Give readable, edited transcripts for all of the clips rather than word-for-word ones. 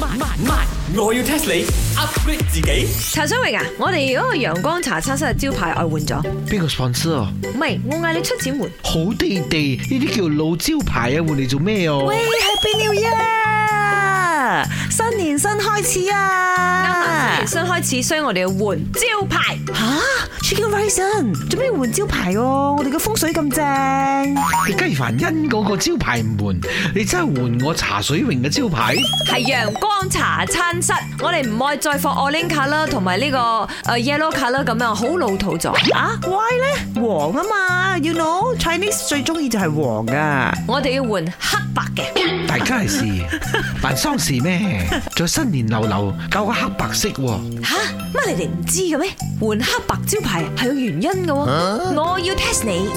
我要 test 你 upgrade 自己。 茶水榮啊，我哋嗰個陽光茶餐室嘅招牌外換咗。 邊個 sponsor 啊？ 唔係，我嗌你出錢換。 好地地，呢啲叫老招牌啊，換嚟做咩啊？ 喂，Happy New Year！新年新開始啊！ 啱啦，新開始，所以我哋要換招牌。 吓 ，Chicken Rice 做咩換招牌哦？我哋嘅風水咁正。 你雞凡恩嗰個招牌唔換，你真係換我茶水榮嘅招牌？ 係陽光茶餐室，我哋唔愛再放 orange color 同埋呢個yellow color 咁樣，好老土咗。 啊 ，why 咧？黃啊嘛 ，you know Chinese 最中意就係黃噶。 我哋要換黑白嘅。 大家係事辦喪事咩？再新年流流，搞個黑白色喎。 吓，乜你哋唔知嘅咩？換黑白招牌係有原因嘅喎。我要 test 你。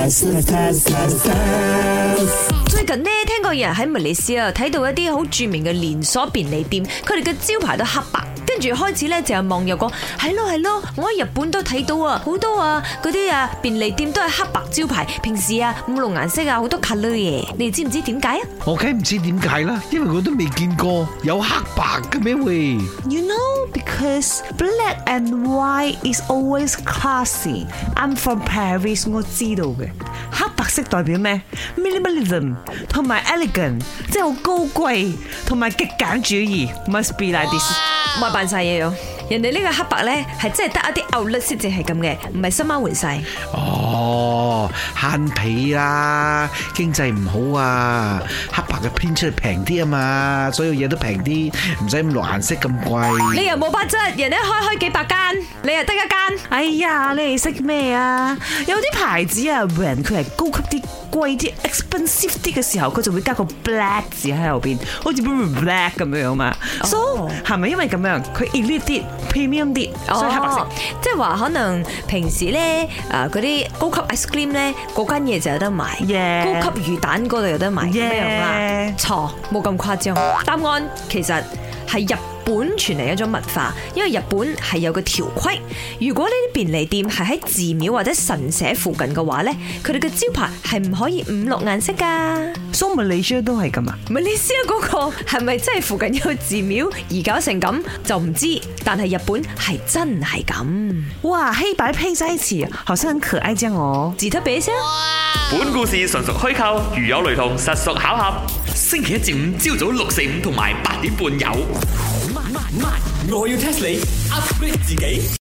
最近呢，聽過有人喺馬來西亞睇到一啲好著名嘅連鎖便利店，佢哋嘅招牌都黑白。跟住開始咧就有網友講，係咯，我喺日本都睇到啊，好多啊嗰啲便利店都係黑白招牌，平時五綠顏色好多 colour 嘅，你哋知唔知點解啊？ 我梗唔知點解啦，因為我都未見過有黑白嘅咩喂。 You know because black and white is always classy. I'm from Paris， 我知道嘅。黑白色代表咩 ？Minimalism 同埋 elegant， 即係好高貴同埋極簡主義。Must be like this。 咪扮晒嘢咯！人哋呢個黑白咧係真係得一啲 outlet 先至係咁嘅，唔係深貓換晒。 哦，慳皮啦，經濟唔好啊，黑白嘅編出嚟平啲啊嘛，所有嘢都平啲，唔使咁落顏色咁貴。 你又冇八質，人哋開幾百間，你又得一間。 哎呀，你哋識咩啊？有啲牌子啊，when 佢係高級啲、貴啲、expensive 啲嘅時候，佢就會加個 black 字喺後邊，好似 black 咁樣嘛。So 係咪因為咁樣，佢 elite 啲、premium 啲，所以黑白色？ 即係話可能平時咧嗰啲高級 ice cream 咧嗰間嘢就有得賣，高級魚蛋嗰度有得賣，咁樣啦。錯，冇咁誇張。答案其實係日本傳嚟一種文化，因為日本係有個條規，如果呢啲便利店係喺寺廟或者神社附近嘅話咧，佢哋嘅招牌係唔可以五綠顏色噶。 So Malaysia 都係咁啊？ 馬來西亞嗰個係咪真係附近有個寺廟而搞成咁就唔知，但係日本係真係咁。 哇，黑白配在一起，好像很可愛這樣哦。 自特別聲。 本故事純屬虛構，如有雷同，實屬巧合。星期一至五朝早6:45同埋8:30有。我要 test 你 upgrade 自己。